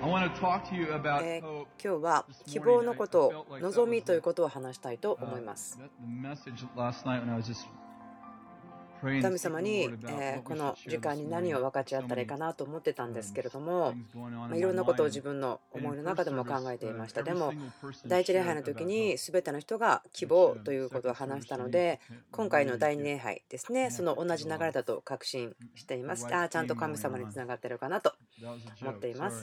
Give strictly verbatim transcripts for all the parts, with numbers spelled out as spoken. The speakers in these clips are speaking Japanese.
えー今日は希望のことを、望みということを話したいと思います。神様に、えーこの時間に何を分かち合ったらいいかなと思ってたんですけれども、まあいろんなことを自分の思いの中でも考えていました。でも、第一礼拝の時に全ての人が希望ということを話したので、今回の第二礼拝ですね、その同じ流れだと確信しています。ああ、ちゃんと神様につながってるかなと思っています。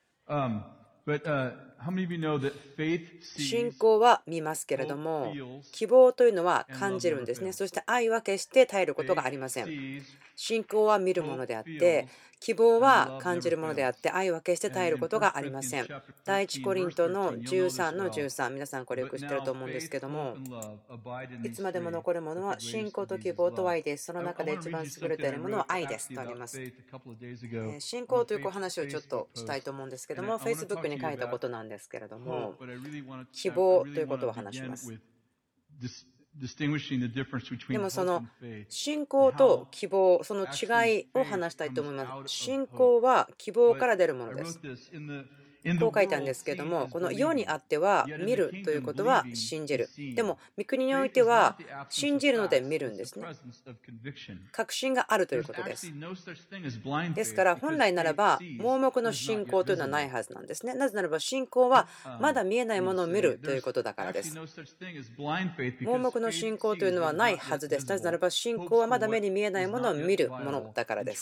信仰は見ますけれども、希望というのは感じるんですね。そして愛は決して絶えることがありません。信仰は見るものであって、希望は感じるものであって、愛は決して絶えることがありません。第一コリントのじゅうさんのじゅうさん、皆さんこれよく知ってると思うんですけども、いつまでも残るものは信仰と希望と愛です。その中で一番優れているものは愛ですとあります。えー信仰という話をちょっとしたいと思うんですけども、Facebook に書いたことなんですけれども、希望ということを話します。でもその信仰と希望、その違いを話したいと思います。信仰は希望から出るものです。こう書いたんですけれども、この世にあっては見るということは信じる。でも、御国においては信じるので見るんですね。確信があるということです。ですから、本来ならば、盲目の信仰というのはないはずなんですね。なぜならば、信仰はまだ見えないものを見るということだからです。盲目の信仰というのはないはずです。なぜならば、信仰はまだ目に見えないものを見るものだからです。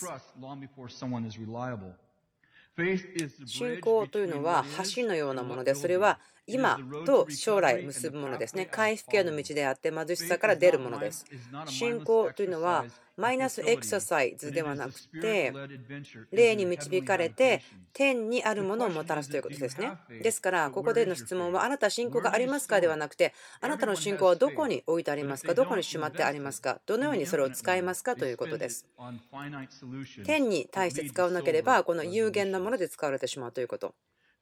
信仰というのは橋のようなもので、それは今と将来結ぶものですね。回復への道であって貧しさから出るものです。信仰というのはマイナスエクササイズではなくて、霊に導かれて天にあるものをもたらすということですね。ですから、ここでの質問は、あなた信仰がありますかではなくて、あなたの信仰はどこに置いてありますか、どこにしまってありますか、どのようにそれを使いますかということです。天に対して使わなければ、この有限なもので使われてしまうということ。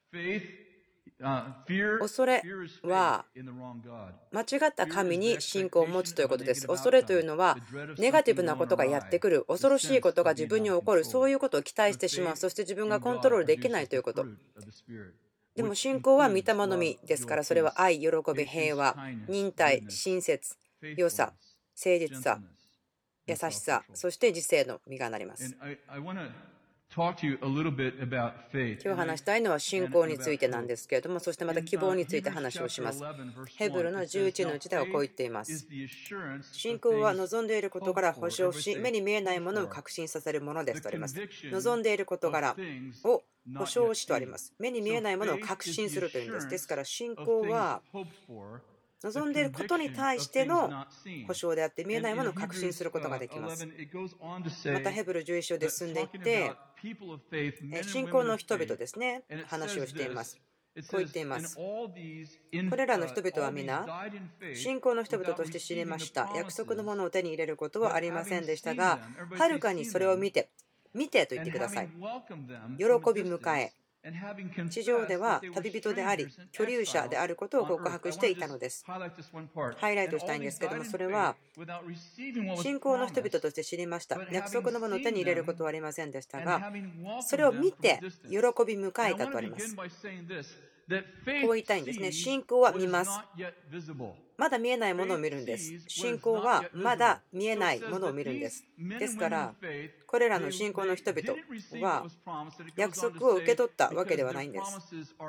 恐れは間違った神に信仰を持つということです。恐れというのはネガティブなことがやってくる、恐ろしいことが自分に起こる、そういうことを期待してしまう、そして自分がコントロールできないということ。でも信仰は御霊の実ですから、それは愛、喜び、平和、忍耐、親切、良さ、誠実さ、優しさ、そして自制の実がなります。今日話したいのは信仰についてなんですけれども、そしてまた希望について話をします。ヘブルのじゅういちのいちではこう言っています。信仰は望んでいる事柄を保証し、目に見えないものを確信させるものですとあります。望んでいる事柄を保証しとあります。目に見えないものを確信するというんです。ですから信仰は望んでいることに対しての保証であって、見えないものを確信することができます。またヘブルじゅういち章で進んでいって、信仰の人々ですね、話をしています。こう言っています。これらの人々は皆、信仰の人々として知りました。約束のものを手に入れることはありませんでしたが、はるかにそれを見て、見てと言ってください。喜び迎え、地上では旅人であり、居留者であることを告白していたのです。ハイライトしたいんですけども、それは信仰の人々として知りました。約束のものを手に入れることはありませんでしたが、それを見て喜び迎えたとあります。こう言いたいんですね。信仰は見ます。まだ見えないものを見るんです。信仰はまだ見えないものを見るんです。ですから、これらの信仰の人々は約束を受け取ったわけではないんです。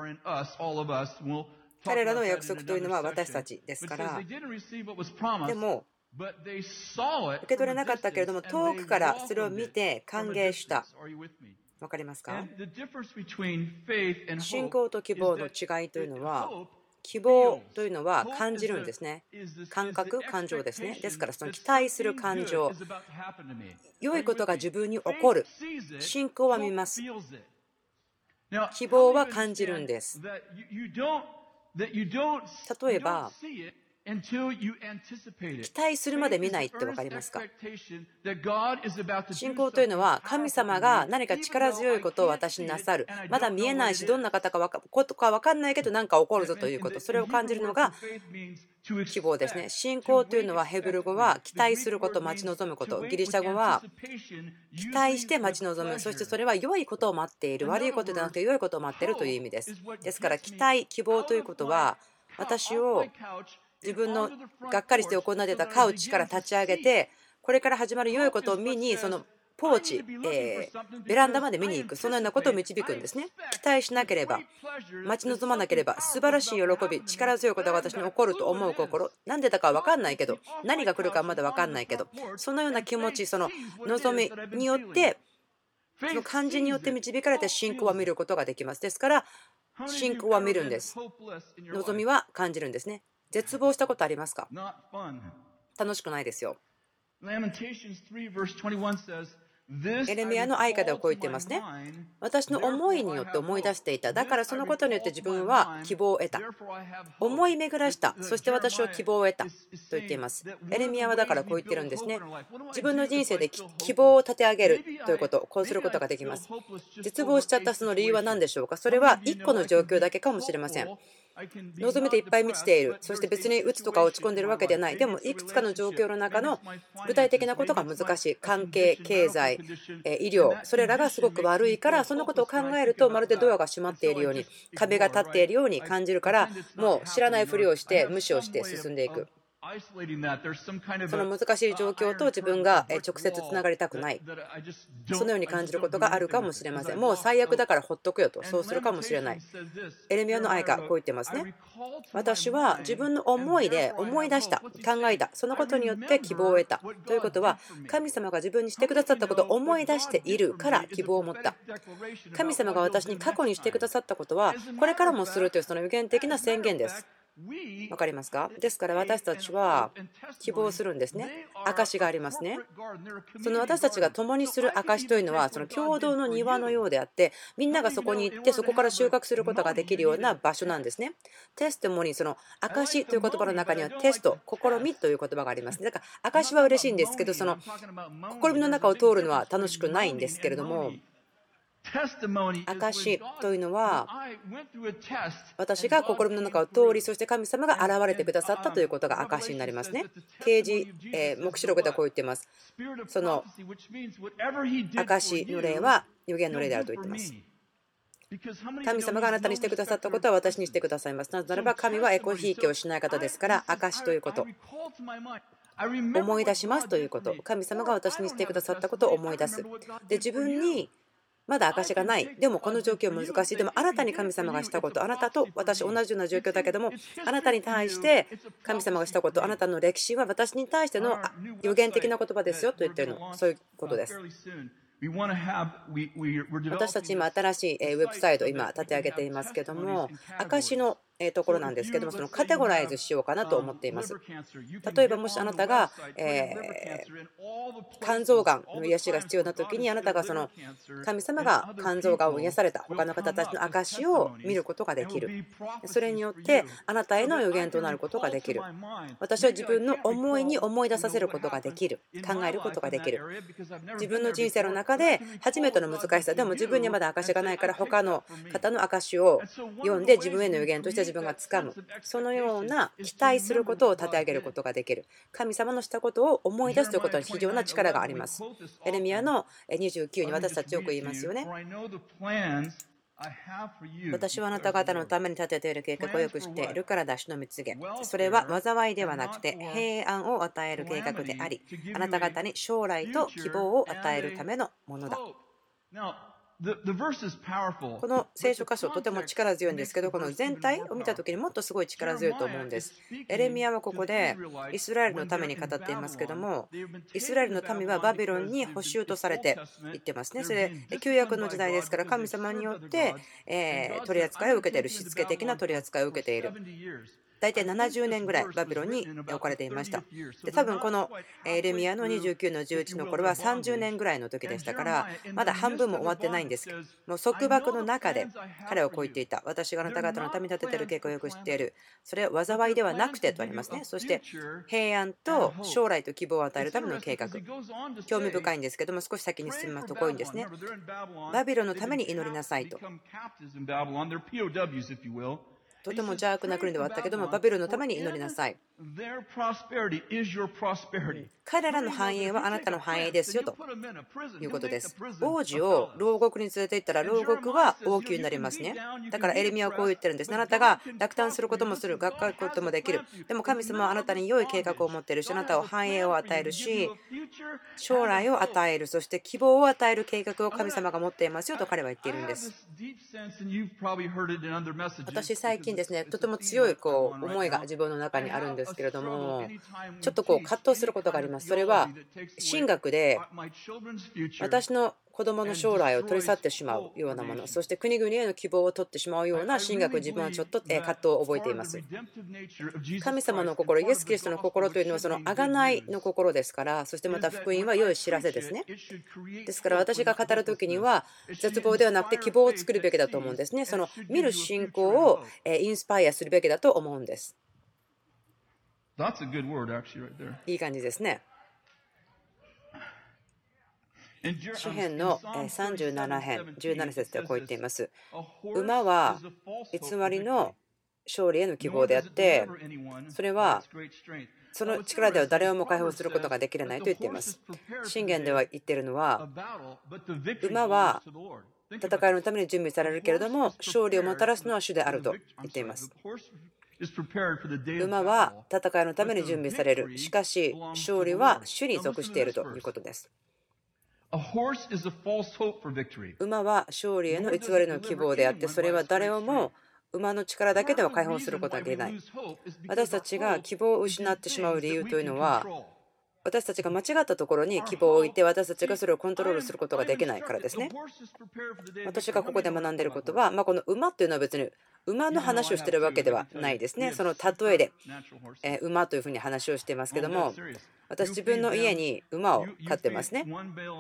彼らの約束というのは私たちですから、でも、受け取れなかったけれども、遠くからそれを見て歓迎した。わかりますか？信仰と希望の違いというのは、希望というのは感じるんですね。感覚、感情ですね。ですから、その期待する感情、良いことが自分に起こる。信仰は見ます。希望は感じるんです。例えば、 期待するまで見ないって分かりますか？信仰というのは神様が何か力強いことを私になさる、まだ見えないしどんな方かことか分かんないけど何か起こるぞということ、それを感じるのが希望ですね。信仰というのはヘブル語は期待すること、待ち望むこと、ギリシャ語は期待して待ち望む、そしてそれは良いことを待っている、悪いことではなくて良いことを待っているという意味です。ですから期待、希望ということは私を自分のがっかりして行ってたカウチから立ち上げて、これから始まる良いことを見にそのポーチ、えー、ベランダまで見に行く、そのようなことを導くんですね。期待しなければ、待ち望まなければ、素晴らしい喜び、力強いことが私に起こると思う心、なんでだか分かんないけど、何が来るかまだ分かんないけど、そのような気持ち、その望みによって、その感じによって導かれて信仰は見ることができます。ですから、信仰は見るんです。望みは感じるんですね。絶望したことありますか？楽しくないですよ。エレミヤの愛歌ではこう言っていますね。私の思いによって思い出していた。だからそのことによって自分は希望を得た。思い巡らした。そして私は希望を得た。と言っています。エレミヤはだからこう言ってるんですね。自分の人生で希望を立て上げるということ、こうすることができます。絶望しちゃったその理由は何でしょうか？それはいっこの状況だけかもしれません。望みでいっぱい満ちている。そして別に鬱とか落ち込んでいるわけではない。でもいくつかの状況の中の具体的なことが難しい。関係、経済、医療、それらがすごく悪いから、そのことを考えるとまるでドアが閉まっているように、壁が立っているように感じるから、もう知らないふりをして無視をして進んでいく。その難しい状況と自分が直接つながりたくない、そのように感じることがあるかもしれません。もう最悪だからほっとくよと、そうするかもしれない。エレミヤの愛歌こう言ってますね。私は自分の思いで思い出した、考えた、そのことによって希望を得た。ということは神様が自分にしてくださったことを思い出しているから希望を持った。神様が私に過去にしてくださったことはこれからもするというその予言的な宣言です。わかりますか？ですから私たちは希望するんですね。証がありますね。その私たちが共にする証というのはその共同の庭のようであって、みんながそこに行ってそこから収穫することができるような場所なんですね。テストモニー、その証という言葉の中にはテスト、試みという言葉がありますね。だから証は嬉しいんですけど、その試みの中を通るのは楽しくないんですけれども、証というのは私が心の中を通り、そして神様が現れてくださったということが証になりますね。啓示、えー、黙示録ではこう言っています。その証の霊は預言の霊であると言っています。神様があなたにしてくださったことは私にしてくださいます。なぜならば神はエコひいきをしない方ですから、証ということ、思い出しますということ、神様が私にしてくださったことを思い出す。で、自分にまだ証がない。でもこの状況難しい。でもあなたに神様がしたこと、あなたと私同じような状況だけども、あなたに対して神様がしたこと、あなたの歴史は私に対しての予言的な言葉ですよと言っているの、そういうことです。私たち今新しいウェブサイトを今立て上げていますけども、証のところなんですけども、そのカテゴライズしようかなと思っています。例えばもしあなたが、えー、肝臓がんの癒しが必要な時に、あなたがその神様が肝臓がんを癒された他の方たちの証を見ることができる。それによってあなたへの予言となることができる。私は自分の思いに思い出させることができる、考えることができる。自分の人生の中で初めての難しさでも自分にはまだ証がないから、他の方の証を読んで自分への予言として自分がつかむ、そのような期待することを立て上げることができる。神様のしたことを思い出すということに非常な力があります。エレミヤのにじゅうきゅうに私たちよく言いますよね。私はあなた方のために立てている計画をよく知っているから出しのみ告げ。それは災いではなくて平安を与える計画であり、あなた方に将来と希望を与えるためのものだ。この聖書箇所とても力強いんですけど、この全体を見た時にもっとすごい力強いと思うんです。エレミヤはここでイスラエルのために語っていますけども、イスラエルの民はバビロンに捕囚とされていってますね。それで旧約の時代ですから、神様によって取り扱いを受けている、しつけ的な取り扱いを受けている。 大体ななじゅうねんぐらいバビロンに置かれていました。で多分このエレミヤのにじゅうきゅうのじゅういちの頃はさんじゅうねんぐらいの時でしたから、まだ半分も終わってないんです。もう束縛の中で彼はこう言っていた。私があなた方のために立てている計画をよく知っている。それは災いではなくてとありますね。そして平安と将来と希望を与えるための計画。興味深いんですけども、少し先に進みますとこういうんですね。バビロンのために祈りなさいと。とても邪悪な国ではあったけども、バビロンのために祈りなさい。彼らの繁栄はあなたの繁栄ですよということです。王子を牢獄に連れて行ったら牢獄は王宮になりますね。だからエレミヤはこう言ってるんです。あなたが落胆することもする、がっかりすることもできる。でも神様はあなたに良い計画を持っているし、あなたを繁栄を与えるし、将来を与える、そして希望を与える計画を神様が持っていますよと彼は言っているんです。私最近ですね、とても強いこう思いが自分の中にあるんですけれども、ちょっとこう葛藤することがあります。それは神学で私の子供の将来を取り去ってしまうようなもの、そして国々への希望を取ってしまうような神学、自分はちょっと葛藤を覚えています。神様の心、イエス・キリストの心というのはその贖いの心ですから、そしてまた福音は良い知らせですね。ですから私が語るときには絶望ではなくて希望を作るべきだと思うんですね。その見る信仰をインスパイアするべきだと思うんです。いい感じですね。詩編のさんじゅうなな編じゅうなな節ではこう言っています。馬は偽りの勝利への希望であって、それはその力では誰をも解放することができないと言っています。箴言では言っているのは、馬は戦いのために準備されるけれども、勝利をもたらすのは主であると言っています。馬は戦いのために準備される。しかし、勝利は主に属しているということです。馬は勝利への偽りの希望であって、それは誰をも馬の力だけでは解放することができない。私たちが希望を失ってしまう理由というのは、私たちが間違ったところに希望を置いて、私たちがそれをコントロールすることができないからですね。私がここで学んでいることは、まあ、この馬というのは別に馬の話をしているわけではないですね。その例えで、えー馬というふうに話をしていますけども、私自分の家に馬を飼ってますね。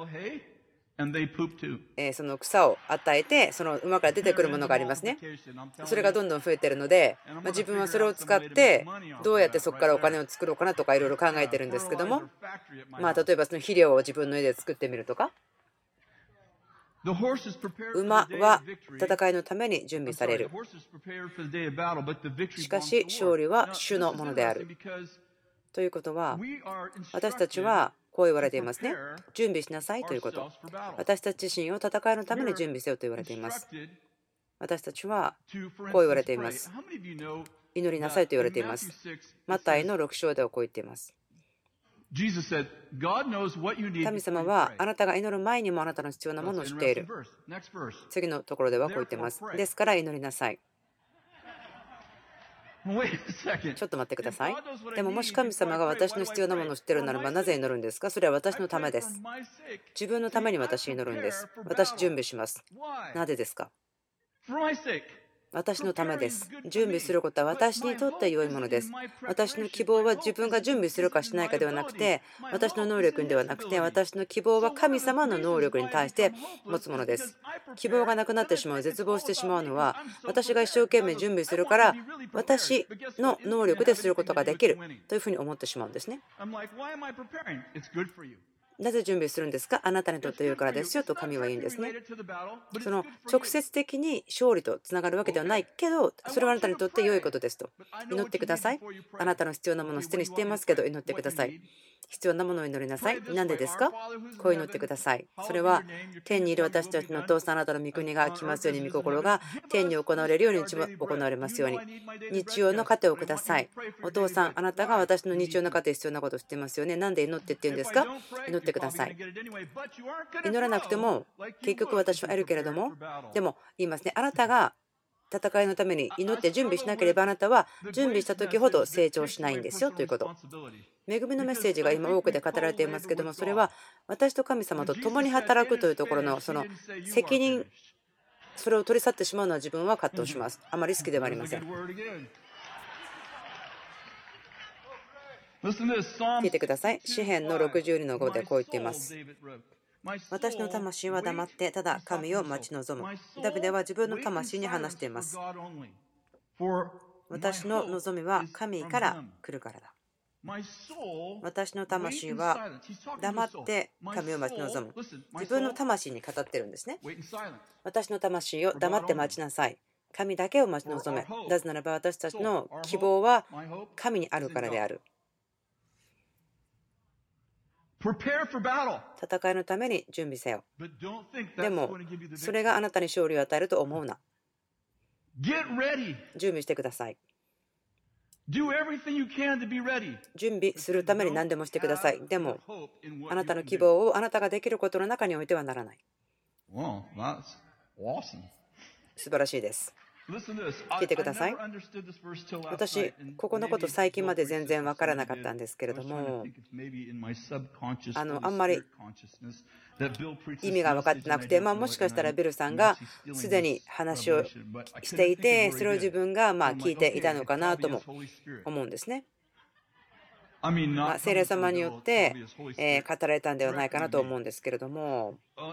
えーその草を与えて、その馬から出てくるものがありますね。それがどんどん増えているので、まあ、自分はそれを使ってどうやってそこからお金を作ろうかなとかいろいろ考えてるんですけども、まあ例えばその肥料を自分の家で作ってみるとか。馬は戦いのために準備される。しかし勝利は主のものである。ということは、私たちはこう言われていますね。準備しなさいということ。私たち自身を戦いのために準備せよと言われています。私たちはこう言われています。祈りなさいと言われています。マタイのろく章ではこう言っています。神様はあなたが祈る前にもあなたの必要なものを知っている。次のところではこう言っています。ですから祈りなさい。ちょっと待ってください。でももし神様が私の必要なものを知っているならばなぜ祈るんですか？それは私のためです。自分のために私祈るんです。私準備します。なぜですか？私のためです。準備することは私にとって良いものです。私の希望は自分が準備するかしないかではなくて、私の能力ではなくて、私の希望は神様の能力に対して持つものです。希望がなくなってしまう、絶望してしまうのは、私が一生懸命準備するから、私の能力ですることができるというふうに思ってしまうんですね。なぜ準備するんですか？あなたにとって良いからですよと神は言うんですね。その直接的に勝利とつながるわけではないけど、それはあなたにとって良いことですと。祈ってください。あなたの必要なものをすでに知っていますけど、祈ってください。必要なものを祈りなさい。なんでですか？こう祈ってください。それは天にいる私たちのお父さん、あなたの御国が来ますように、御心が天に行われるように日も行われますように。日曜の糧をください。お父さん、あなたが私の日曜の糧必要なことを知っていますよね。なんで祈ってって言うんですか？祈ってください。祈らなくても結局私は得るけれども、でも言いますね。あなたが戦いのために祈って準備しなければあなたは準備した時ほど成長しないんですよということ。恵みのメッセージが今多くで語られていますけども、それは私と神様と共に働くというところのその責任、それを取り去ってしまうのは自分は葛藤します。あまり好きではありません。 聞いてください。詩編のろくじゅうにのごでこう言っています。私の魂は黙ってただ神を待ち望む。ダビデは自分の魂に話しています。私の望みは神から来るからだ。私の魂は黙って神を待ち望む。自分の魂に語ってるんですね。私の魂を黙って待ちなさい。神だけを待ち望め。なぜならば私たちの希望は神にあるからである。戦いのために準備せよ。でも、それがあなたに勝利を与えると思うな。準備してください。準備するために何でもしてください。でも、あなたの希望をあなたができることの中においてはならない。素晴らしいです。聞いてください。私、ここのこと最近まで全然分からなかったんですけれども、あのあんまり意味が分かってなくて、まあ、もしかしたらビルさんがすでに話をしていて、それを自分がまあ聞いていたのかなとも思うんですね。まあ、聖霊様によって、えー、語られたんではないかなと思うんですけれども、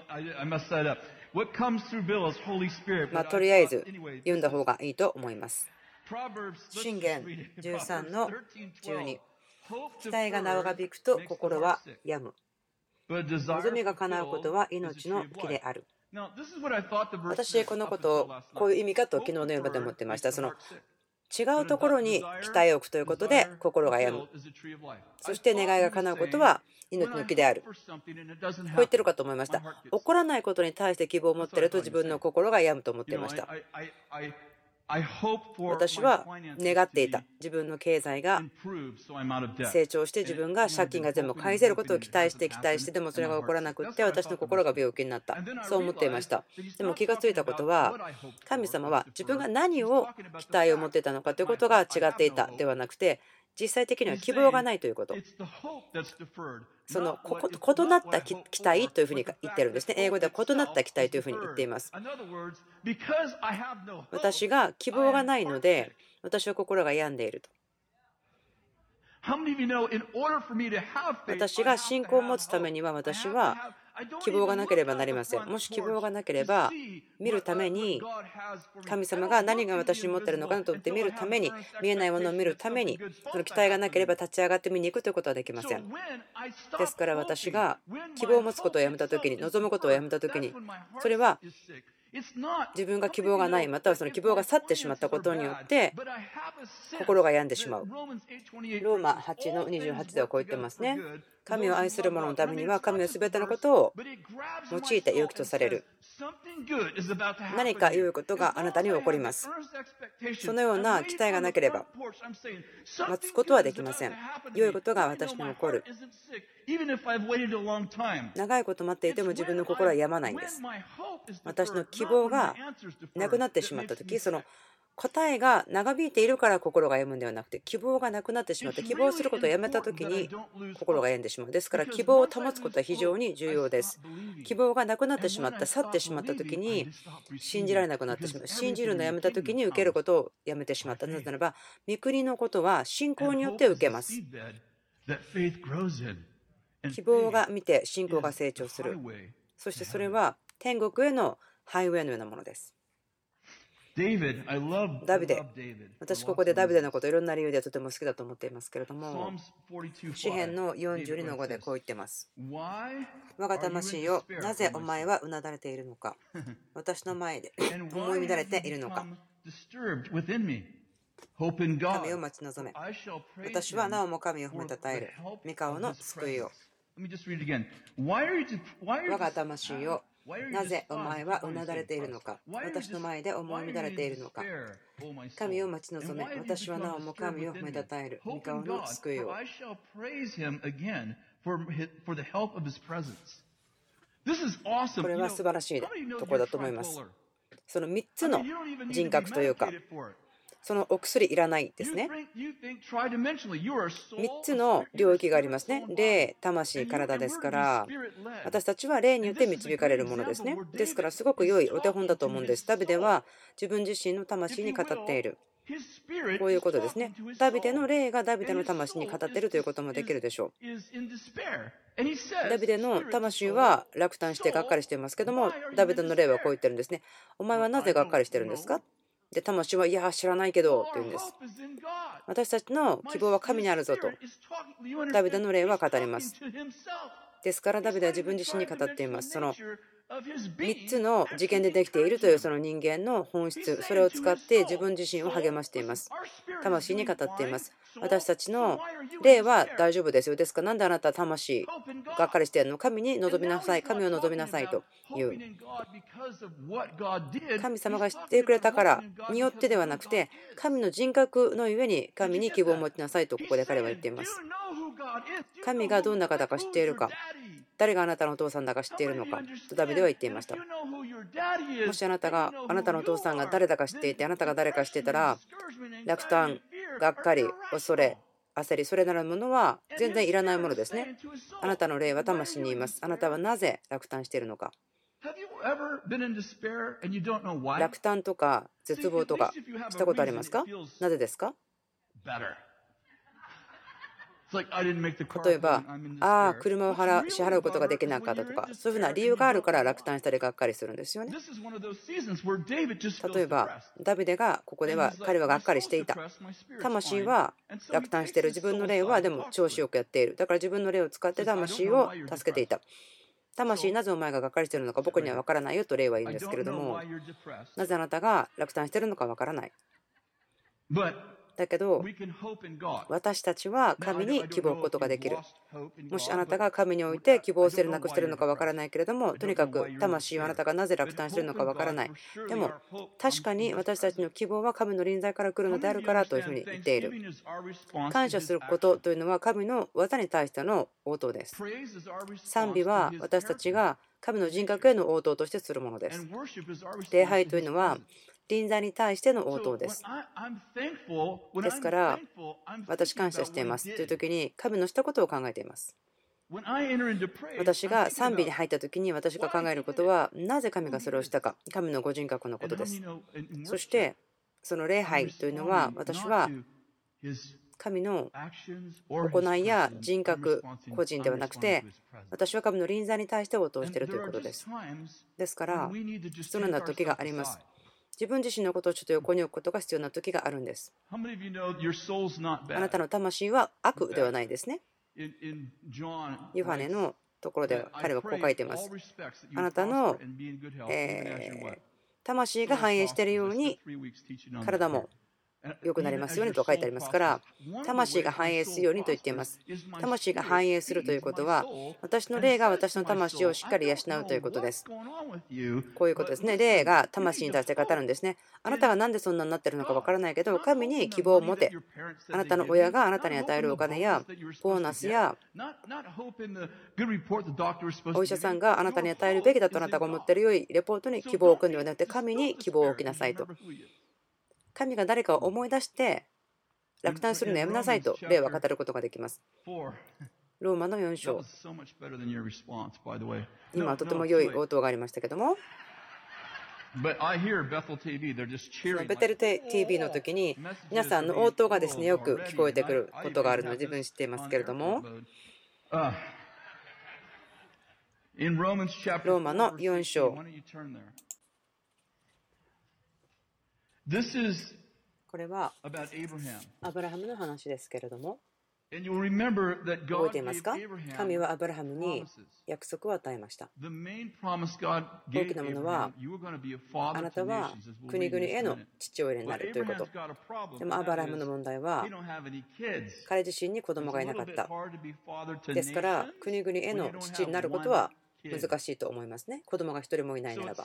まあ、とりあえず読んだ方がいいと思います。箴言じゅうさんのじゅうに、期待が長引くと心は病む。望みが叶うことは命の木である。私、このことをこういう意味かと昨日の夜まで思ってました。その違うところに期待を置くということで心が病む。そして願いが叶うことは命の木である。こう言ってるかと思いました。起こらないことに対して希望を持っていると自分の心が病むと思っていました。私は願っていた。自分の経済が成長して自分が借金が全部返せることを期待して期待してでもそれが起こらなくって私の心が病気になった。そう思っていました。でも気がついたことは神様は自分が何を期待を持っていたのかということが違っていたではなくて実際的には希望がないということ。その異なった期待というふうに言ってるんですね。英語では異なった期待というふうに言っています。私が希望がないので私は心が病んでいると。私が信仰を持つためには私は希望がなければなりません。もし希望がなければ見るために神様が何が私に持っているのかなと思って見るために見えないものを見るためにその期待がなければ立ち上がって見に行くということはできません。ですから私が希望を持つことをやめた時に望むことをやめた時にそれは自分が希望がないまたはその希望が去ってしまったことによって心が病んでしまう。ローマはちのにじゅうはちではこう言ってますね。神を愛する者のためには神は全てのことを用いて良きとされる。何か良いことがあなたに起こります。そのような期待がなければ待つことはできません。良いことが私に起こる。長いこと待っていても自分の心は病まないんです。私の希望がなくなってしまった時その答えが長引いているから心が病むんではなくて希望がなくなってしまって希望することをやめた時に心が病んでしまう。ですから希望を保つことは非常に重要です。希望がなくなってしまった去ってしまった時に信じられなくなってしまう。信じるのをやめた時に受けることをやめてしまった。なぜならば御国のことは信仰によって受けます。希望が見て信仰が成長する。そしてそれは天国へのハイウェイのようなものです。ダビデ、私ここでダビデのこといろんな理由でとても好きだと思っていますけれども、詩編のよんじゅうにのごでこう言ってます。我が魂よ、なぜお前はうなだれているのか。私の前で思い乱れているのか。神を待ち望め。私はなおも神を褒めたたえる。御顔の救いを。我が魂よ、なぜお前はうなだれているのか。私の前で思い乱れているのか。神を待ち望め。私はなおも神を褒めたたえる。御顔の救いを。これは素晴らしいところだと思います。そのみっつの人格というか、そのお薬いらないですね。みっつの領域がありますね。霊、魂、体ですから、私たちは霊によって導かれるものですね。ですからすごく良いお手本だと思うんです。ダビデは自分自身の魂に語っている。 こういうことですね。ダビデの霊がダビデの魂に語っているということもできるでしょう。ダビデの魂は落胆してがっかりしていますけども、ダビデの霊はこう言ってるんですね。お前はなぜがっかりしてるんですか？で、魂は、いや、知らないけどって言うんです。私たちの希望は神にあるぞと、ダビデの霊は語ります。ですから、ダビデは自分自身に語っています。そのみっつの事件でできているというその人間の本質、それを使って自分自身を励ましています。魂に語っています。私たちの霊は大丈夫ですよ。ですから、なんであなたは魂がっかりしているの？神に望みなさい。神を望みなさいという。神様が知ってくれたからによってではなくて、神の人格のゆえに神に希望を持ちなさいとここで彼は言っています。神がどんな方か知っているか、誰があなたのお父さんだか知っているのかとダビデは言っていました。もしあなたがあなたのお父さんが誰だか知っていて、あなたが誰か知っていたら、落胆、がっかり、恐れ、焦り、それなるものは全然いらないものですね。あなたの霊は魂にいます。あなたはなぜ落胆しているのか。落胆とか絶望とかしたことありますか？なぜですか？例えば、ああ、車を払支払うことができなかったとか、そういうふうな理由があるから落胆したりがっかりするんですよね。例えば、ダビデがここでは彼はがっかりしていた。魂は落胆している。自分の霊はでも調子よくやっている。だから自分の霊を使って魂を助けていた。魂、なぜお前ががっかりしているのか僕には分からないよと霊は言うんですけれども、なぜあなたが落胆しているのか分からない。だけど私たちは神に希望を置くことができる。もしあなたが神において希望を捨てるなくしているのかわからないけれども、とにかく魂はあなたがなぜ落胆しているのかわからない。でも確かに私たちの希望は神の臨在から来るのであるからというふうに言っている。感謝することというのは神の技に対しての応答です。賛美は私たちが神の人格への応答としてするものです。礼拝というのは臨在に対しての応答です。ですから、私感謝していますという時に神のしたことを考えています。私が賛美に入った時に私が考えることは、なぜ神がそれをしたか、神のご人格のことです。そして、その礼拝というのは、私は神の行いや人格、個人ではなくて、私は神の臨在に対して応答しているということです。ですから、必要な時があります。自分自身のことをちょっと横に置くことが必要な時があるんです。あなたの魂は悪ではないですね。ヨハネのところでは彼はこう書いています。あなたの、えー、魂が反映しているように体も良くなりますようにと書いてありますから、魂が反映するようにと言っています。魂が反映するということは、私の霊が私の魂をしっかり養うということです。こういうことですね。霊が魂に対して語るんですね。あなたがなんでそんなになっているのかわからないけど、神に希望を持て。あなたの親があなたに与えるお金やボーナスやお医者さんがあなたに与えるべきだとあなたが思っている良いレポートに希望を置くのではなくて、神に希望を置きなさいと。神が誰かを思い出して落胆するのやめなさいと霊は語ることができます。ローマのよん章。今とても良い応答がありましたけども、ベテル ティービー の時に皆さんの応答がですねよく聞こえてくることがあるので自分知っていますけれども、ローマのよん章。これはアブラハムの話ですけれども、覚えていますか？神はアブラハムに約束を与えました。大きなものは、あなたは国々への父親になるということ。でもアブラハムの問題は、彼自身に子供がいなかった。ですから、国々への父になることは難しいと思いますね。子供が一人もいないならば。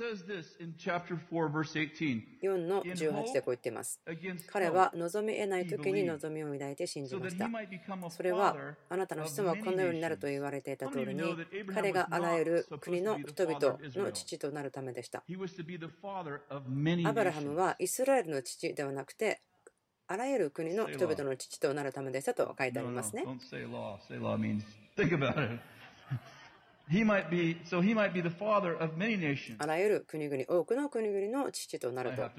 よんのじゅうはちでこう言っています。彼は望み得ない時に望みを抱いて信じました。それはあなたの子孫はこのようになると言われていた通りに、彼があらゆる国の人々の父となるためでした。アブラハムはイスラエルの父ではなくて、あらゆる国の人々の父となるためでしたと書いてありますね。 あらゆる国々、多くの国々の父となると。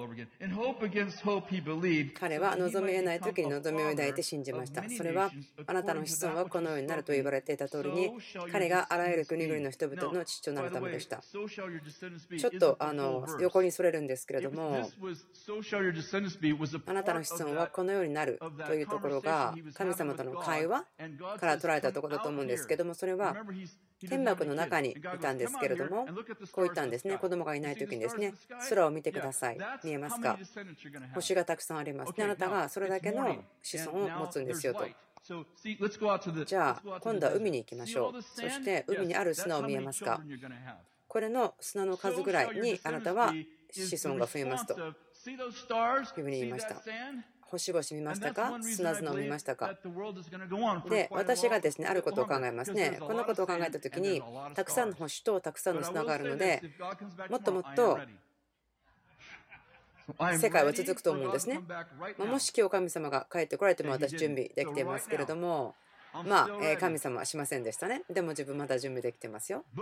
彼は望み得ない時に望みを抱いて信じました。それはあなたの子孫はこのようになると言われていた通りに、彼があらゆる国々の人々の父となるためでした。ちょっとあの横にそれるんですけれども、あなたの子孫はこのようになるというところが神様との会話から捉えたところだと思うんですけども、それは天幕の中にいたんですけれども、こう言ったんですね。子供がいない時にですね、空を見てください。見えますか？星がたくさんありますね。あなたがそれだけの子孫を持つんですよと。じゃあ今度は海に行きましょう。そして海にある砂を見えますか？これの砂の数ぐらいにあなたは子孫が増えますというふうに言いました。星々見ましたか？砂々を見ましたか？で、私がですね、あることを考えますね。このことを考えたときに、たくさんの星とたくさんの砂があるので、もっともっと世界は続くと思うんですね。もし今日神様が帰ってこられても私準備できていますけれども、まあ、神様はしませんでしたね。でも自分まだ準備できてますよ。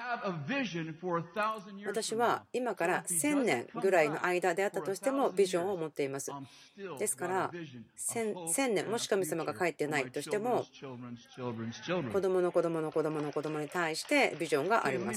私は今からせんねんぐらいの間であったとしてもビジョンを持っています。ですからせんねんもし神様が帰ってないとしても、子供の子供の子供の子供に対してビジョンがあります。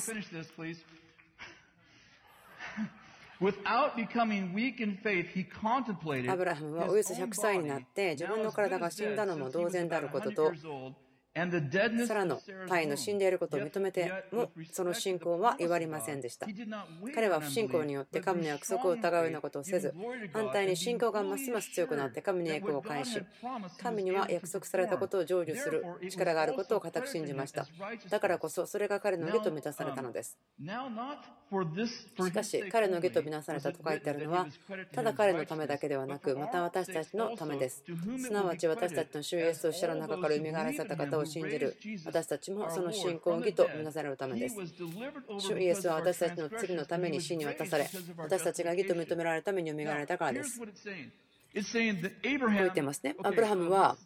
アブラハムはおよそひゃくさいになって自分の体が死んだのも同然であることと、サラの体の死んでいることを認めてもその信仰は弱りませんでした。彼は不信仰によって神の約束を疑うようなことをせず、反対に信仰がますます強くなって神の約を返し、神には約束されたことを成就する力があることを固く信じました。だからこそそれが彼の義と満たされたのです。しかし彼の義と見なされたと書いてあるのは、ただ彼のためだけではなく、また私たちのためです。すなわち私たちの主イエスと死者の中から蘇らせた方を信じる私たちもその信仰義とみなされるためです。主イエスは私たちの罪のために死に渡され、私たちが義と認められるために蘇られたからです。こう言ってますね。アブラハムは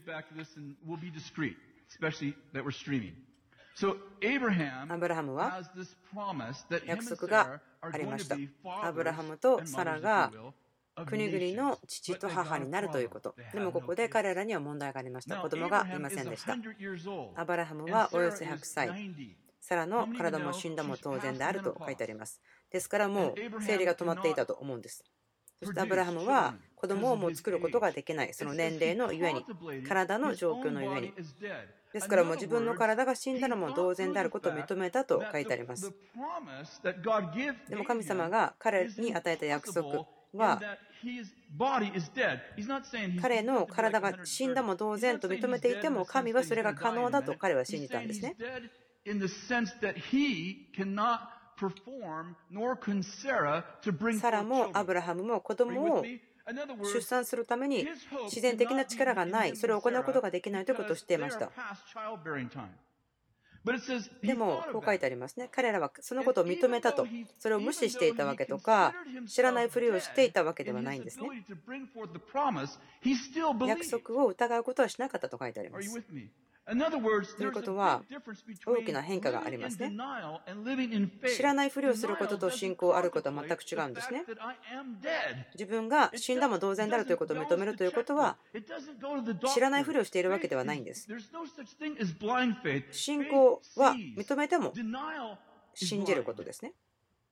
アブラハムは約束がありました。アブラハムとサラが国々の父と母になるということ。でもここで彼らには問題がありました。子供がいませんでした。アブラハムはおよそひゃくさい、サラの体も死んだも当然であると書いてあります。ですからもう生理が止まっていたと思うんです。そしてアブラハムは子供をもう作ることができない、その年齢のゆえに、体の状況のゆえに。ですからもう自分の体が死んだのも同然であることを認めたと書いてあります。でも神様が彼に与えた約束は、彼の体が死んだも同然と認めていても、神はそれが可能だと彼は信じたんですね。サラもアブラハムも子供を出産するために自然的な力がない、それを行うことができないということを知っていました。でもこう書いてありますね。彼らはそのことを認めたと、それを無視していたわけとか知らないふりをしていたわけではないんですね。約束を疑うことはしなかったと書いてあります。ということは大きな変化がありますね。知らないふりをすることと信仰あることは全く違うんですね。自分が死んだも同然であるということを認めるということは、知らないふりをしているわけではないんです。信仰は認めても信じることですね。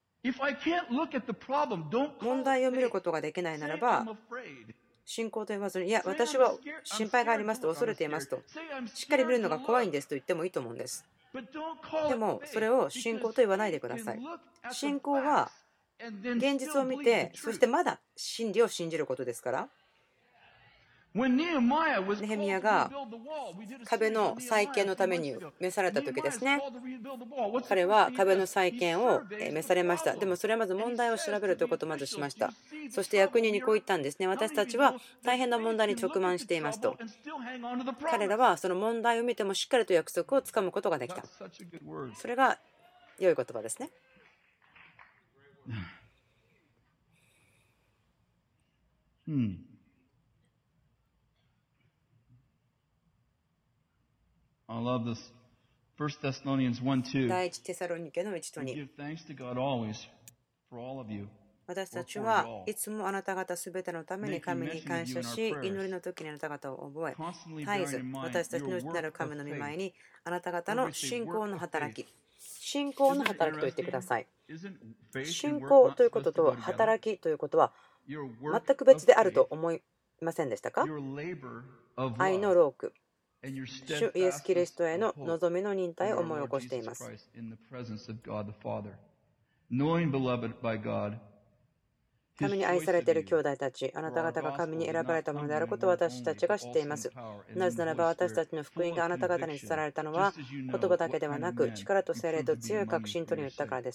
問題を見ることができないならば、信仰と言わずに、いや、私は心配がありますと、恐れていますと、しっかり見るのが怖いんですと言ってもいいと思うんです。でもそれを信仰と言わないでください。信仰は現実を見て、そしてまだ真理を信じることですから。ネヘミヤが壁の再建のために召された時ですね、彼は壁の再建を召されました。でもそれはまず問題を調べるということをまずしました。そして役人にこう言ったんですね。私たちは大変な問題に直面していますと。彼らはその問題を見てもしっかりと約束をつかむことができた。それが良い言葉ですね。 Hmm. I love this 第一テサロニケのいちとに。私たちはいつもあなた方すべてのために神に感謝し、祈りの時にあなた方を覚え、絶えず私たちの内なる神の御前にあなた方の信仰の働き、信仰の働きと言ってください。信仰ということと働きということは全く別であると思いませんでしたか？愛の労苦、主イエス・キリストへの望みの忍耐を思い起こしています。神に愛されている兄弟たち、あなた方が神に選ばれたものであることを私たちが知っています。なぜならば私たちの福音があなた方に伝えられたのは言葉だけではなく力と精霊と強い確信とによったからです。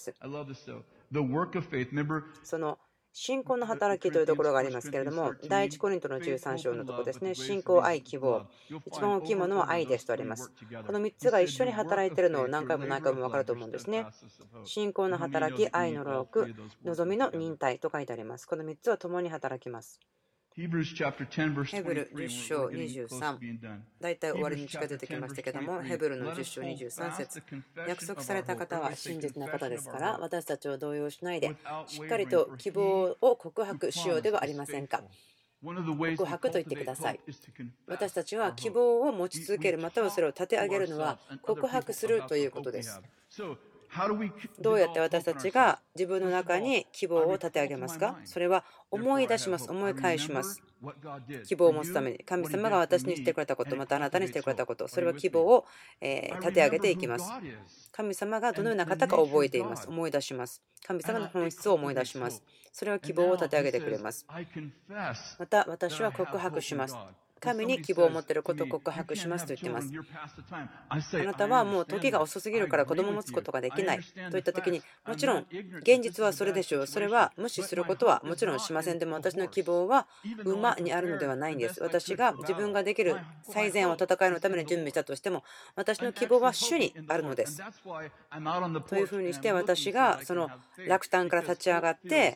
その信仰の働きというところがありますけれども、第一コリントのじゅうさん章のところですね。信仰、愛、希望。一番大きいものは愛ですとあります。このみっつが一緒に働いているのを何回も何回も分かると思うんですね。信仰の働き、愛の労苦、望みの忍耐と書いてあります。このみっつは共に働きます。ヘブルじゅっ章にじゅうさん、だいたい終わりに近づいてきましたけども、ヘブルのじゅっ章にじゅうさん節、約束された方は真実な方ですから、私たちを動揺しないで、しっかりと希望を告白しようではありませんか。告白と言ってください。私たちは希望を持ち続ける、またはそれを立て上げるのは告白するということです。どうやって私たちが自分の中に希望を立て上げますか？それは思い出します。思い返します。希望を持つために神様が私にしてくれたこと、またあなたにしてくれたこと、それは希望を立て上げていきます。神様がどのような方か覚えています。思い出します。神様の本質を思い出します。それは希望を立て上げてくれます。また私は告白します。神に希望を持っていることを告白しますと言っています。あなたはもう時が遅すぎるから子供を持つことができないといった時に、もちろん現実はそれでしょう。それは無視することはもちろんしません。でも私の希望は馬にあるのではないんです。私が自分ができる最善を戦いのために準備したとしても、私の希望は主にあるのです。というふうにして私がその落胆から立ち上がって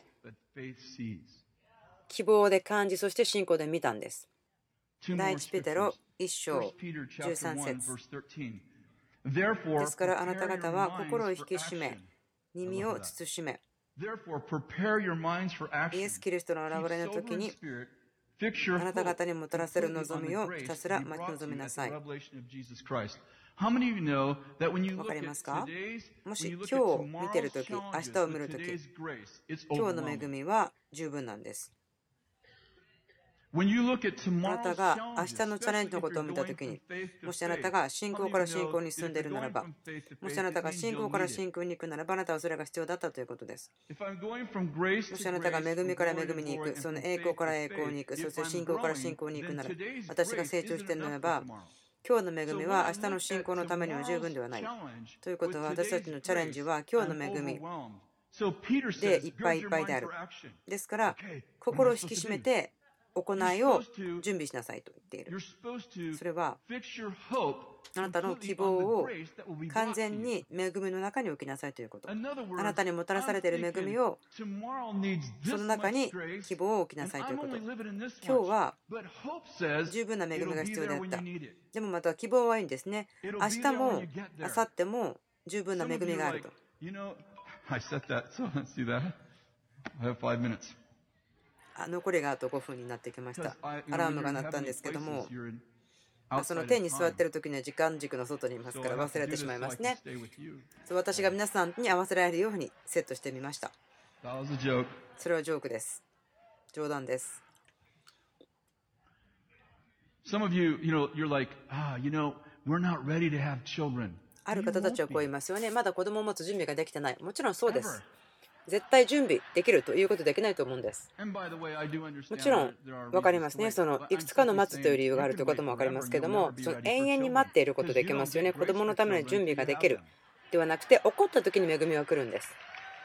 希望で感じ、そして信仰で見たんです。第一ペテロいっ章じゅうさん節。ですからあなた方は心を引き締め、耳を慎め、イエス・キリストの現れの時にあなた方にもたらせる望みをひたすら待ち望みなさい。わかりますか？もし今日見てるとき、明日を見るとき、今日の恵みは十分なんです。あなたが明日のチャレンジのことを見たときに、もしあなたが信仰から信仰に進んでいるならば、もしあなたが信仰から信仰に行くならば、あなたはそれが必要だったということです。もしあなたが恵みから恵みに行く、その栄光から栄光に行く、そして信仰から信仰に行くなら、私が成長しているならば、今日の恵みは明日の信仰のためには十分ではない。ということは、私たちのチャレンジは今日の恵みでいっぱいいっぱいである。ですから、心を引き締めて、行いを準備しなさいと言っている。それはあなたの希望を完全に恵みの中に置きなさいということ。あなたにもたらされている恵みをその中に希望を置きなさいということ。今日は十分な恵みが必要であった。でもまた希望はいいんですね。明日も明後日も十分な恵みがあると。残りがあとごふんになってきました。アラームが鳴ったんですけども、その天に座っている時には時間軸の外にいますから忘れてしまいますね。私が皆さんに合わせられるようにセットしてみました。それはジョークです。冗談です。ある方たちはこう言いますよね。まだ子供を持つ準備ができてない。もちろんそうです。絶対準備できるということできないと思うんです。もちろん分かりますね。そのいくつかの待つという理由があるということも分かりますけども、その永遠に待っていることできますよね。子供のための準備ができるではなくて、起こった時に恵みは来るんです。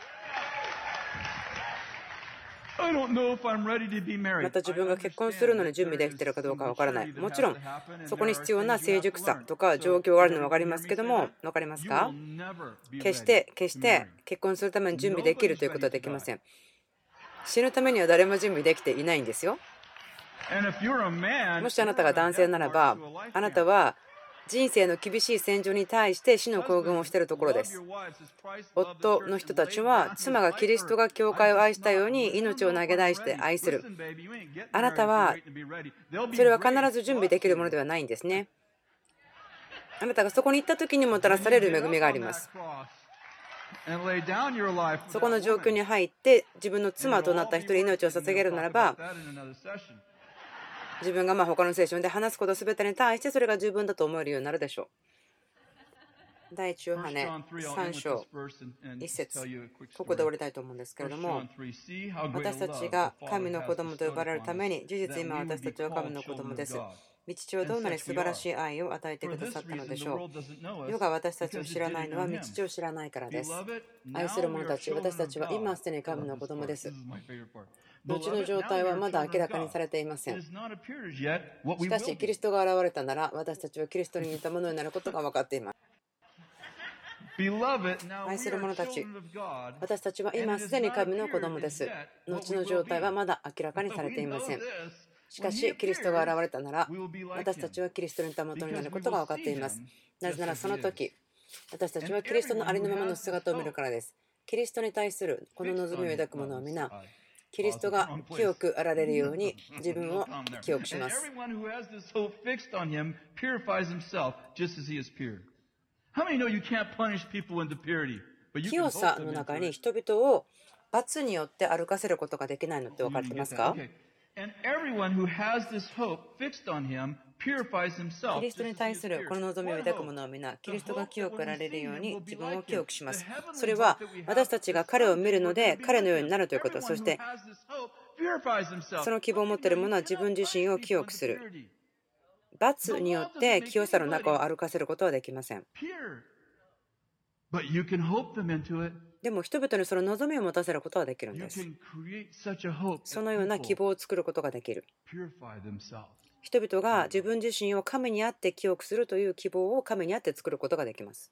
また自分が結婚するのに準備できているかどうかわからない。もちろんそこに必要な成熟さとか状況があるのは分かりますけども、分かりますか？決して決して結婚するために準備できるということはできません。死ぬためには誰も準備できていないんですよ。もしあなたが男性ならば、あなたは人生の厳しい戦場に対して死の行軍をしているところです。夫の人たちは妻がキリストが教会を愛したように命を投げ出して愛する。あなたはそれは必ず準備できるものではないんですね。あなたがそこに行った時にもたらされる恵みがあります。そこの状況に入って自分の妻となった人に命を捧げるならば、自分がまあ他のセッションで話すことすべてに対してそれが十分だと思えるようになるでしょう。第一ヨハネさん章いち節、ここで終わりたいと思うんですけれども、私たちが神の子供と呼ばれるために、事実今私たちは神の子供です。御父はどんなに素晴らしい愛を与えてくださったのでしょう。世が私たちを知らないのは御父を知らないからです。愛する者たち、私たちは今すでに神の子供です。後の状態はまだ明らかにされていません。しかし、キリストが現れたなら、私たちはキリストに似たものになることが分かっています。愛する者たち、私たちは今すでに神の子供です。後の状態はまだ明らかにされていません。しかし、キリストが現れたなら、私たちはキリストに似たものになることが分かっています。なぜならその時、私たちはキリストのありのままの姿を見るからです。キリストに対するこの望みを抱く者は皆、キリストが清くあられるように自分を清くします。清さの中に人々を罰によって歩かせることができないのって分かってますか？キリストに対するこの望みを抱く者は皆、キリストが清くあられるように自分を清くします。それは私たちが彼を見るので彼のようになるということ。そしてその希望を持っている者は自分自身を清くする。罰によって清さの中を歩かせることはできません。でも人々にその望みを持たせることはできるんです。そのような希望を作ることができる。人々が自分自身を神にあって清くするという希望を神にあって作ることができます。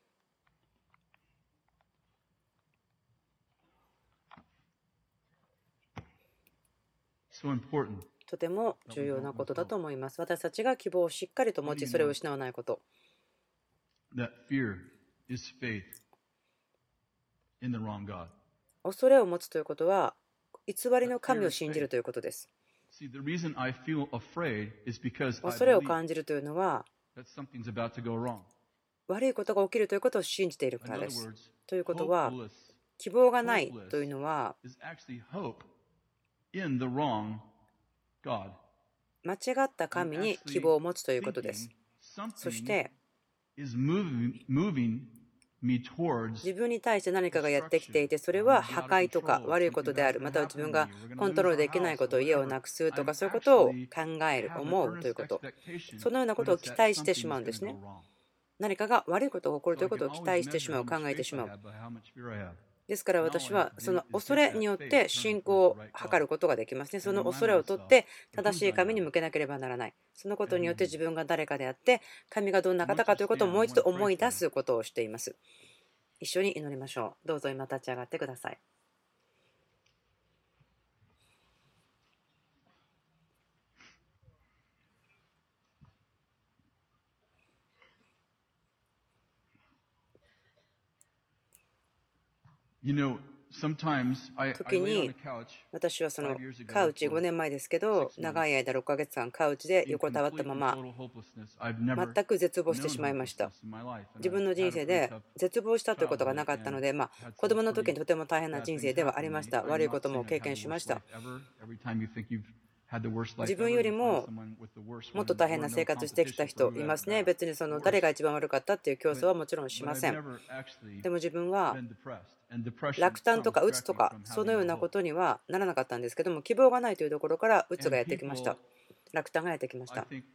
とても重要なことだと思います。私たちが希望をしっかりと持ち、それを失わないこと。恐れを持つということは、偽りの神を信じるということです。恐れを感じるというのは、悪いことが起きるということを信じているからです。ということは、希望がないというのは、間違った神に希望を持つということです。そして、自分に対して何かがやってきていて、それは破壊とか悪いことである、または自分がコントロールできないこと、家をなくすとか、そういうことを考える、思うということ、そのようなことを期待してしまうんですね。何かが悪いことが起こるということを期待してしまう、考えてしまう。ですから私はその恐れによって信仰を図ることができますね。その恐れを取って正しい神に向けなければならない。そのことによって自分が誰かであって神がどんな方かということをもう一度思い出すことをしています。一緒に祈りましょう。どうぞ今立ち上がってください。時に私はそのカウチごねんまえですけど、長い間ろっかげつかんカウチで横たわったまま全く絶望してしまいました。自分の人生で絶望したということがなかったので、まあ子供の時にとても大変な人生ではありました。悪いことも経験しました。自分よりももっと大変な生活してきた人いますね。別にその誰が一番悪かったっていう競争はもちろんしません。でも自分は落胆とか鬱とかそのようなことにはならなかったんですけども、希望がないというところから鬱がやってきました。落胆がやってきました。人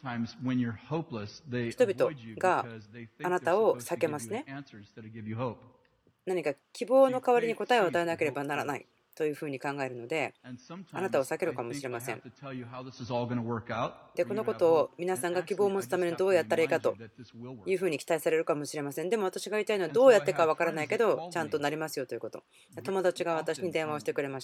々があなたを避けますね。何か希望の代わりに答えを与えなければならないというふうに考えるので、あなたを避けるかもしれません。で、このことを皆さんが希望を持つためにどうやったらいいかというふうに期待されるかもしれません。でも私が言いたいのは、どうやってかわからないけど、ちゃんとなりますよということ。友達が私に電話をしてくれました。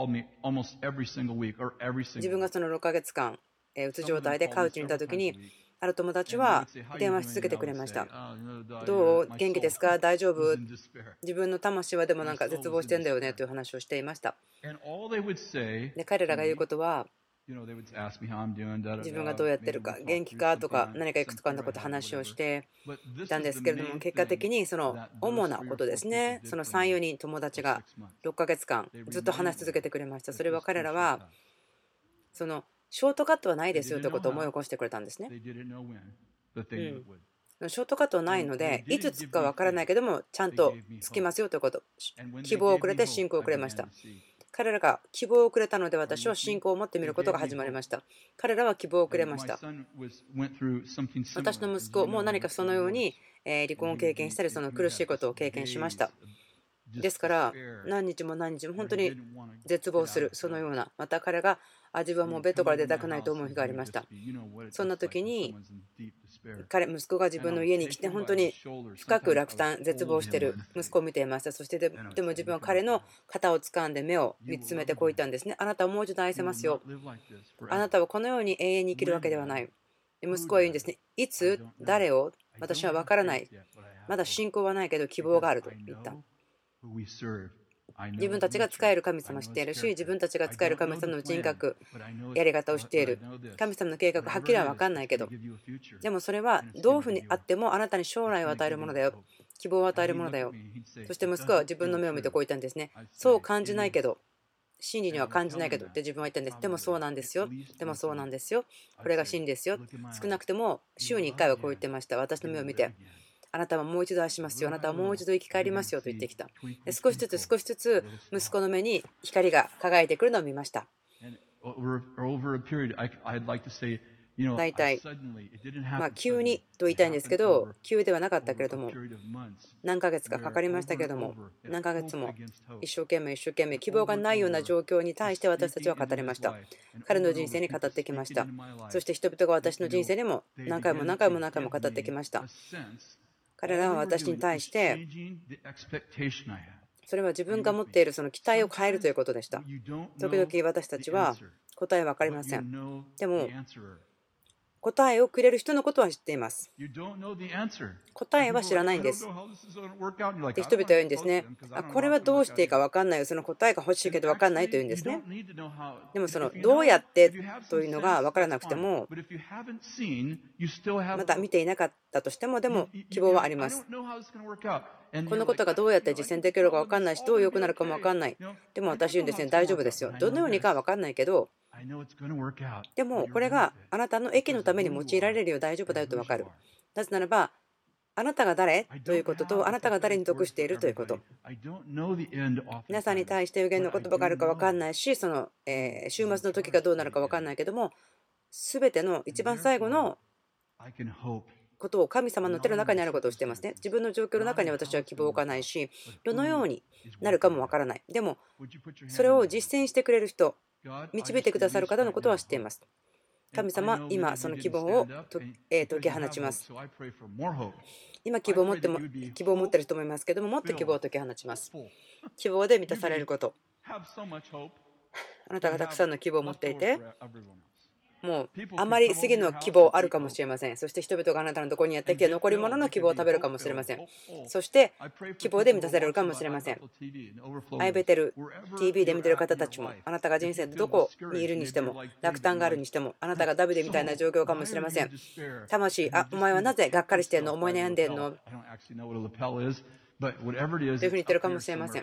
自分がそのろっかげつかん、うつ状態でカウチにいたときに、 ある友達は電話し続けてくれました。どう元気ですか大丈夫自分の魂はでもなんか絶望してんだよねという話をしていました。で彼らが言うことは自分がどうやってるか元気かとか何かいくつかのこと話をしていたんですけれども、結果的にその主なことですね、そのさん、よにん友達がろっかげつかんずっと話し続けてくれました。それは彼らはそのショートカットはないですよということを思い起こしてくれたんですね。うん、ショートカットはないのでいつつくか分からないけどもちゃんとつきますよということ、希望をくれて信仰をくれました。彼らが希望をくれたので私は信仰を持ってみることが始まりました。彼らは希望をくれました。私の息子も何かそのように離婚を経験したりその苦しいことを経験しました。ですから何日も何日も本当に絶望する、そのような、また彼があ自分はもうベッドから出たくないと思う日がありました。そんな時に彼息子が自分の家に来て本当に深く落胆絶望している息子を見ていました。そしてででも自分は彼の肩を掴んで目を見つめてこう言ったんですね。あなたはもう一度愛せますよ。あなたはこのように永遠に生きるわけではない。息子は言うんですね。いつ誰を私は分からない。まだ信仰はないけど希望があると言った。自分たちが使える神様を知っているし、自分たちが使える神様の人格、やり方を知っている。神様の計画、はっきりは分かんないけど、でもそれはどういうふうにあってもあなたに将来を与えるものだよ。希望を与えるものだよ。そして息子は自分の目を見てこう言ったんですね。そう感じないけど、真理には感じないけどって自分は言ったんです。でもそうなんですよ。でもそうなんですよ。これが真理ですよ。少なくても週にいっかいはこう言ってました。私の目を見て。あなたはもう一度愛しますよ。あなたはもう一度生き返りますよと言ってきた。少しずつ少しずつ息子の目に光が輝いてくるのを見ました。大体、まあ、急にと言いたいんですけど、急ではなかったけれども、何ヶ月かかかりましたけれども、何ヶ月も一生懸命一生懸命希望がないような状況に対して私たちは語りました。彼の人生に語ってきました。そして人々が私の人生にも何回も何回も何回も語ってきました。彼らは私に対してそれは自分が持っているその期待を変えるということでした。時々私たちは答えは分かりません。でも答えをくれる人のことは知っています。答えは知らないんです。で人々は言うんですね。あこれはどうしていいか分かんないよ。その答えが欲しいけど分かんないと言うんですね。でもそのどうやってというのが分からなくてもまた見ていなかったとしてもでも希望はあります。このことがどうやって実践できるか分かんないしどう良くなるかも分かんない。でも私言うんですね。大丈夫ですよ。どのようにかは分かんないけどでもこれがあなたの益のために用いられるよ。大丈夫だよと分かる。なぜならばあなたが誰ということとあなたが誰に属しているということ。皆さんに対して予言の言葉があるか分かんないしその、えー、週末の時がどうなるか分かんないけども全ての一番最後のことを神様の手の中にあることをしていますね。自分の状況の中に私は希望を置かないしどのようになるかも分からない。でもそれを実践してくれる人導いてくださる方のことは知っています。神様、今その希望を解き放ちます。今希望を持っても希望を持っている人もいますけども、もっと希望を解き放ちます。希望で満たされること。あなたがたくさんの希望を持っていて、もうあまり次の希望あるかもしれません。そして人々があなたのところにやってきて残り物の希望を食べるかもしれません。そして希望で満たされるかもしれません。アイベテル ティーブイ で見ている方たちもあなたが人生でどこにいるにしても落胆があるにしてもあなたがダビデみたいな状況かもしれません。魂、あお前はなぜがっかりしてんの思い悩んでんのというふうに言ってるかもしれません。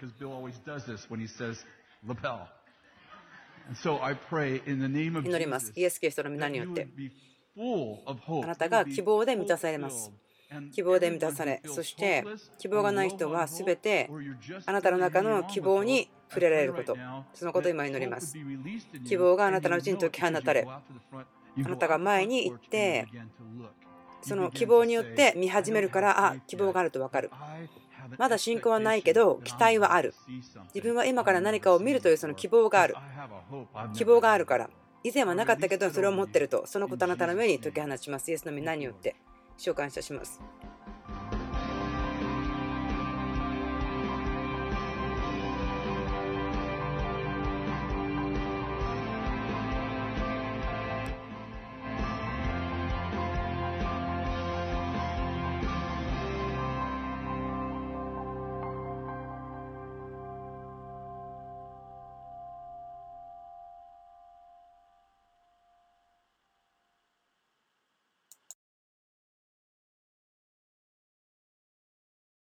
祈ります。イエス・キリストの皆によって。あなたが希望で満たされます。希望で満たされ、そして希望がない人はすべてあなたの中の希望に触れられること、そのことを今祈ります。希望があなたのうちに解き放たれ、あなたが前に行って、その希望によって見始めるから、あ、希望があると分かる。まだ信仰はないけど期待はある。自分は今から何かを見るというその希望がある。希望があるから。以前はなかったけどそれを持っていると、そのことあなたの上に解き放ちます。イエスの皆によって主を感謝します。